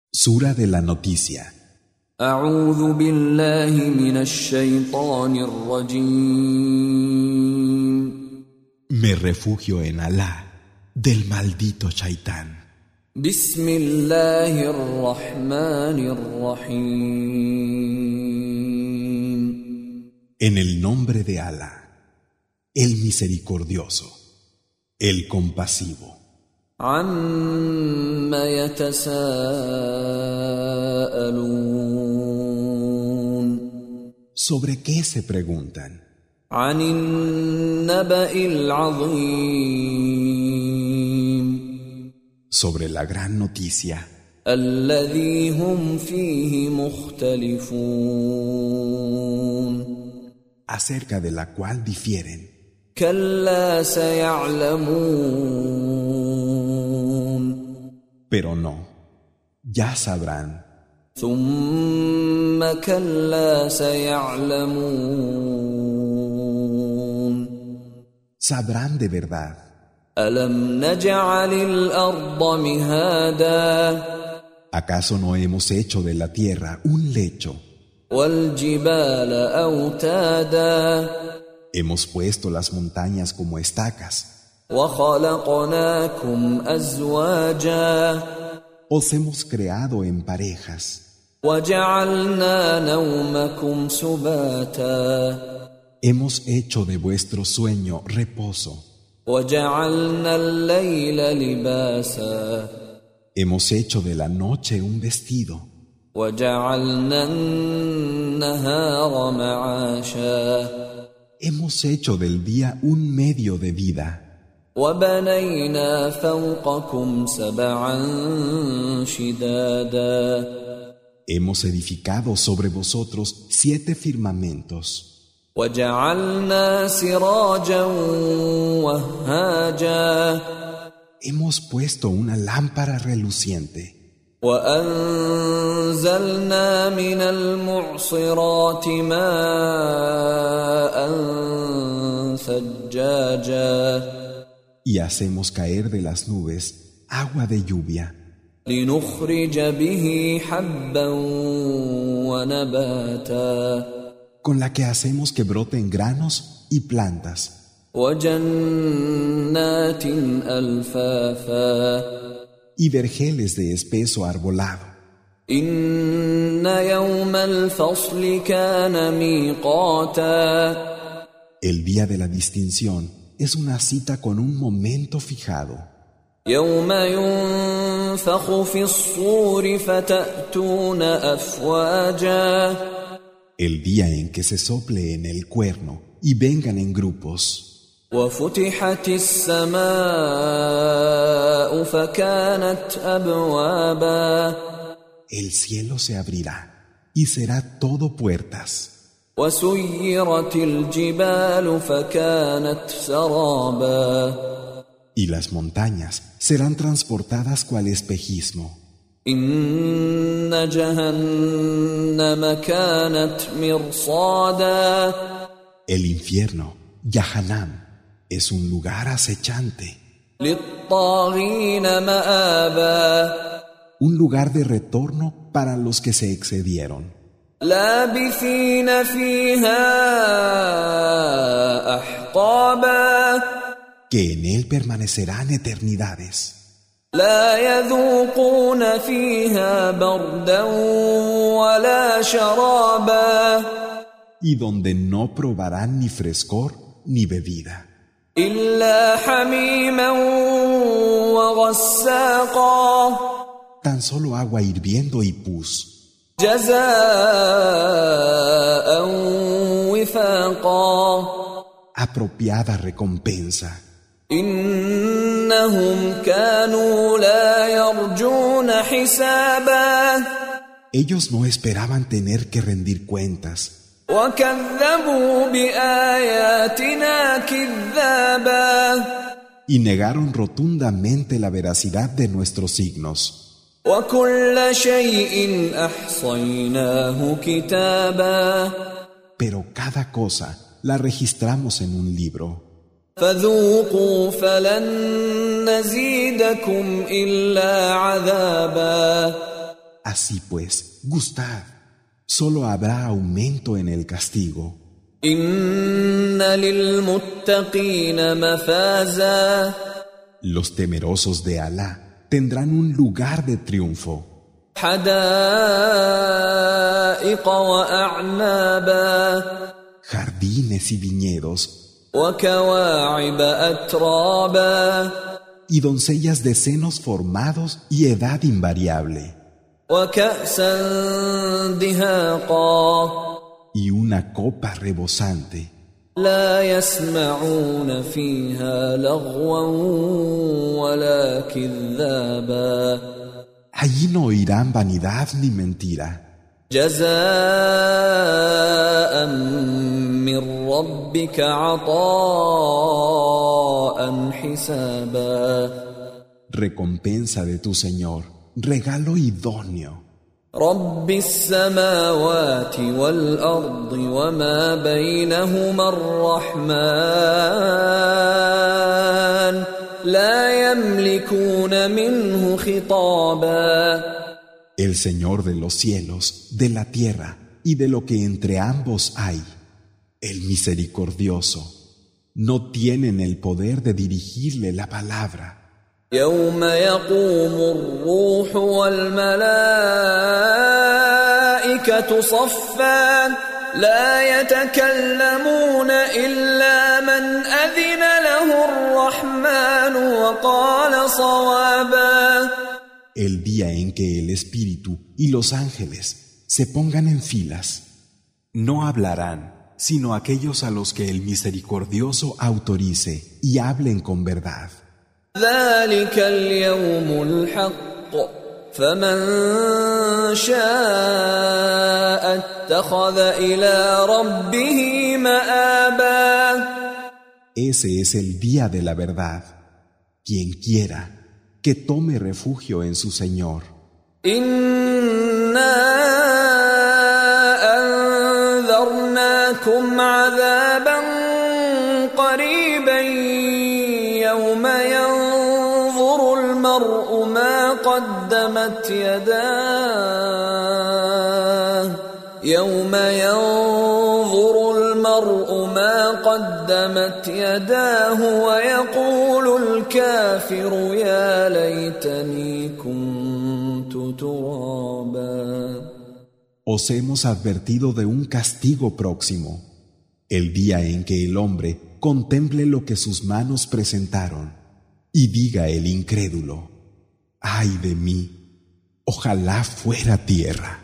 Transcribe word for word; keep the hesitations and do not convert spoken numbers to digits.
Sura de la noticia. أعوذ بالله من الشيطان الرجيم. Me refugio en Alá del maldito Shaitán. بسم الله الرحمن الرحيم. En el nombre de Alá, el misericordioso, el compasivo. عما يتساءلون. ¿Sobre qué se preguntan? عن النبأ العظيم. Sobre la gran noticia, الذي هم فيه مختلفون. acerca de la cual difieren. كلا سيعلمون. Pero no, ya sabrán. ثم كلا سيعلمون. Sabrán de verdad. ألم نجعل الأرض مهادا. ¿Acaso no hemos hecho de la tierra un lecho? والجبال أوتادا. Hemos puesto las montañas como estacas. وخلقناكم أزواجا. Os hemos creado en parejas. وجعلنا نومكم سباتا. Hemos hecho de vuestro sueño reposo. وجعلنا الليل لباسا. Hemos hecho de la noche un vestido. وجعلنا النهار معاشا. Hemos hecho del día un medio de vida. وبنينا فوقكم سبعا شدادا. Hemos edificado sobre vosotros siete firmamentos. وجعلنا سراجا وهاجا. Hemos puesto una lámpara reluciente. وأنزلنا من المعصرات ماء ثجاجا. Y hacemos caer de las nubes agua de lluvia. لنخرج به حبا ونباتا. Con la que hacemos que broten granos y plantas. وجنات ألفافا. Y vergeles de espeso arbolado. إن يوم الفصل كان ميقاتا. El día de la distinción es una cita con un momento fijado. يوم ينفخ في الصور فتأتون أفواجا. El día en que se sople en el cuerno y vengan en grupos. وفتحت السماء فكانت أبوابا. El cielo se abrirá y será todo puertas. وسيرت الجبال فكانت سرابا. Y las montañas serán transportadas cual espejismo. إن جهنم كانت مرصادا. El infierno, Yahanam, es un lugar acechante. للطاغين مآبا. Un lugar de retorno para los que se excedieron. لابثين فيها أحقابا. Que en él permanecerán eternidades. لا يذوقون فيها بردا ولا شرابا. Y donde no probarán ni frescor ni bebida. إلا حميما وغساقا. Tan solo agua hirviendo y pus. جزاء وفاقا. Apropiada recompensa. إنهم كانوا لا يرجون حسابا. Ellos no esperaban tener que rendir cuentas. وكذبوا بآياتنا كذابا. Y negaron rotundamente la veracidad de nuestros signos. وكل شيء أحصيناه كتابا. Pero cada cosa la registramos en un libro. فذوقوا فلن نزيدكم إلا عذابا. Así pues, gustad. Solo habrá aumento en el castigo. Inna lilmuttaqina mafaza. Los temerosos de Alá tendrán un lugar de triunfo. Hadaiqa wa a'naba. Jardines y viñedos. Wa kawa'iba atraba. Y doncellas de senos formados y edad invariable. وَكَأْسًا دِهَاقًا. Y una copa rebosante. لَا يَسْمَعُونَ فِيهَا لَغْوًا وَلَا كِذَّابًا. Allí no oirán vanidad ni mentira. جَزَاءً مِّن رَّبِّكَ عَطَاءً حِسَابًا. Recompensa de tu Señor, regalo idóneo. رب السماوات والأرض وما بينهما الرحمن لا يملكون منه خطابا. El Señor de los cielos, de la tierra y de lo que entre ambos hay, el misericordioso, no tienen el poder de dirigirle la palabra. يوم يقوم الروح والملائكة صفا لا يتكلمون إلا من أذن له الرحمن وقال صوابا. El día en que el Espíritu y los ángeles se pongan en filas, no hablarán sino aquellos a los que el misericordioso autorice y hablen con verdad. ذلك اليوم الحق فمن شاء اتخذ إلى ربه مآبا. Ese es el día de la verdad. Quien quiera, que tome refugio en su Señor. إنا أنذرناكم عذابا قريبا يوم ينظر المرء ما قدمت يداه يوم ينظر المرء ما قدمت يداه ويقول الكافر يا ليتني كنت ترابا. Os hemos advertido de un castigo próximo, el día en que el hombre contemple lo que sus manos presentaron y diga el incrédulo: ¡ay de mí! Ojalá fuera tierra.